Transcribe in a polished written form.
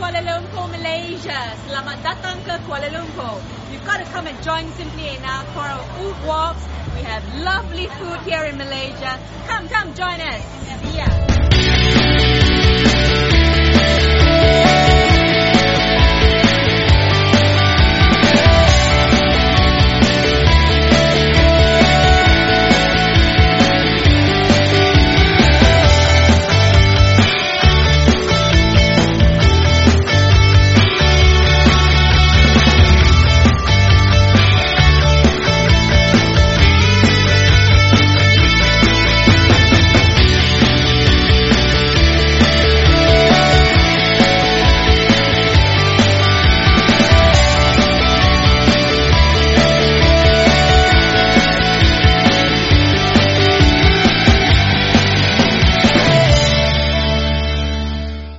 Kuala Lumpur, Malaysia. Selamat datang ke Kuala Lumpur. You've got to come and join Simply Enough for our food walks. We have lovely food here in Malaysia. Come, join us. See ya.